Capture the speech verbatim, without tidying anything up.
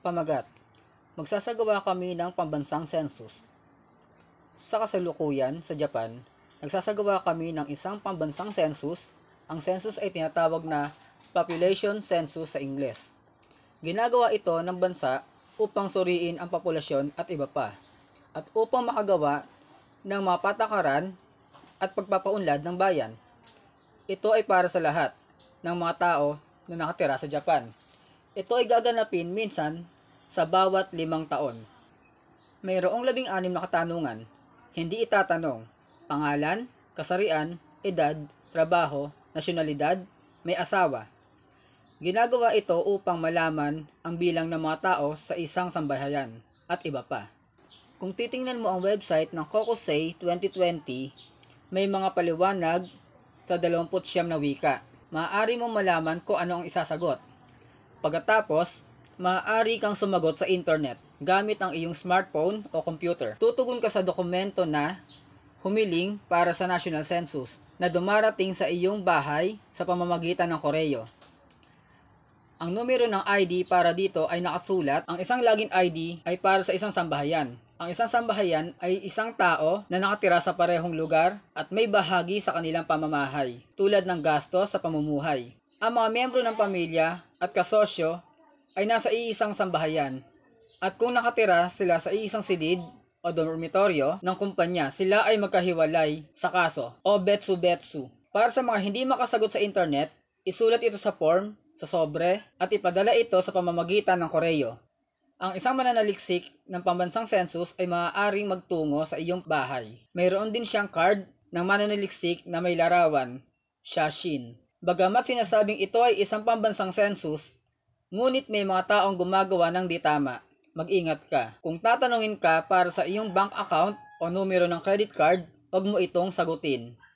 Pamagat. Magsasagawa kami ng pambansang census. Sa kasalukuyan sa Japan, nagsasagawa kami ng isang pambansang census. Ang census ay tinatawag na population census sa Ingles. Ginagawa ito ng bansa upang suriin ang populasyon at iba pa, at upang makagawa ng mga patakaran at pagpapaunlad ng bayan. Ito ay para sa lahat ng mga tao na nakatira sa Japan. Ito ay gaganapin minsan sa bawat limang taon. Mayroong labing anim na katanungan. Hindi itatanong pangalan, kasarian, edad, trabaho, nasyonalidad, may asawa. Ginagawa ito upang malaman ang bilang ng mga tao sa isang sambahayan at iba pa. Kung titingnan mo ang website ng Kokusei twenty twenty, may mga paliwanag sa dalawampu't siyam na wika. Maaari mong malaman kung ano ang isasagot. Pagkatapos, maaari kang sumagot sa internet gamit ang iyong smartphone o computer. Tutugon ka sa dokumento na humiling para sa National Census na dumarating sa iyong bahay sa pamamagitan ng koreo. Ang numero ng I D para dito ay nakasulat. Ang isang login I D ay para sa isang sambahayan. Ang isang sambahayan ay isang tao na nakatira sa parehong lugar at may bahagi sa kanilang pamamahay, tulad ng gastos sa pamumuhay. Ang mga miyembro ng pamilya at kasosyo ay nasa iisang sambahayan, at kung nakatira sila sa iisang silid o dormitoryo ng kumpanya, sila ay magkahiwalay sa kaso o betsu-betsu. Para sa mga hindi makasagot sa internet, isulat ito sa form, sa sobre, at ipadala ito sa pamamagitan ng koreo. Ang isang mananaliksik ng pambansang census ay maaaring magtungo sa iyong bahay. Mayroon din siyang card ng mananaliksik na may larawan, shashin. Bagamat sinasabing ito ay isang pambansang census, ngunit may mga taong gumagawa ng di tama. Mag-ingat ka. Kung tatanungin ka para sa iyong bank account o numero ng credit card, huwag mo itong sagutin.